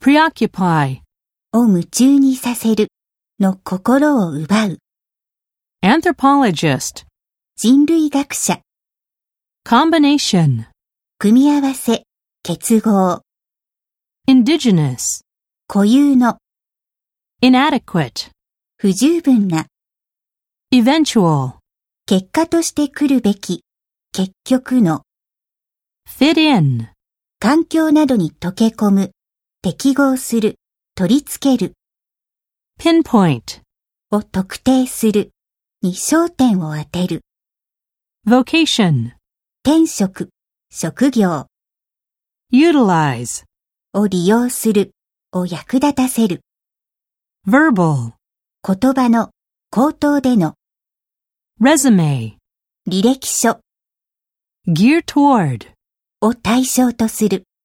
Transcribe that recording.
preoccupy, を夢中にさせるの心を奪う。 anthropologist, 人類学者、 combination, 組み合わせ、結合、 indigenous, 固有の、 inadequate, 不十分な、 eventual, 結果として来るべき、結局の、 fit in, 環境などに溶け込む、適合する、取り付ける、 pinpoint, を特定する、に焦点を当てる、 vocation, 転職、職業、 utilize, を利用する、を役立たせる、 verbal, 言葉の、口頭での、 resume, 履歴書、 gear toward, を対象とする。